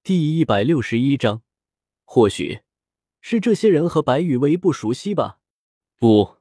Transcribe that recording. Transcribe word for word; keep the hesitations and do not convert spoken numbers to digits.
第一百六十一章，或许是这些人和白羽薇不熟悉吧？不，